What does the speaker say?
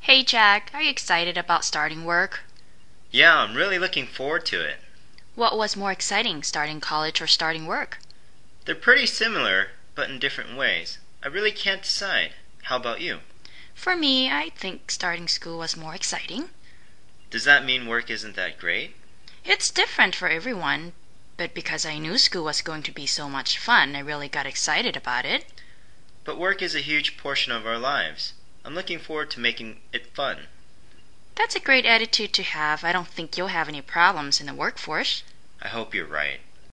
Hey Jack, are you excited about starting work? Yeah, I'm really looking forward to it. What was more exciting, starting college or starting work? They're pretty similar, but in different ways. I really can't decide. How about you? For me, I think starting school was more exciting. Does that mean work isn't that great? It's different for everyone, but because I knew school was going to be so much fun, I really got excited about it. But work is a huge portion of our lives. I'm looking forward to making it fun. That's a great attitude to have. I don't think you'll have any problems in the workforce. I hope you're right.